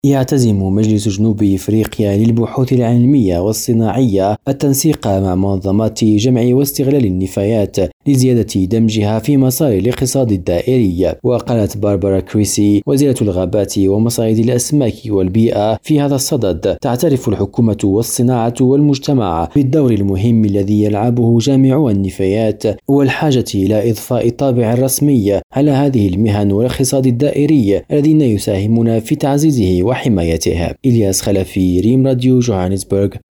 يعتزم مجلس جنوب إفريقيا للبحوث العلمية والصناعية التنسيق مع منظمات جمع واستغلال النفايات لزيادة دمجها في مسار الاقتصاد الدائري. وقالت باربرا كريسي وزيرة الغابات ومصائد الأسماك والبيئة في هذا الصدد: تعترف الحكومة والصناعة والمجتمع بالدور المهم الذي يلعبه جامع النفايات والحاجة إلى إضفاء طابع رسمي على هذه المهن والاقتصاد الدائري الذين يساهمون في تعزيزه وحمايته. إلياس خلفي، ريم راديو، جوهانسبرغ.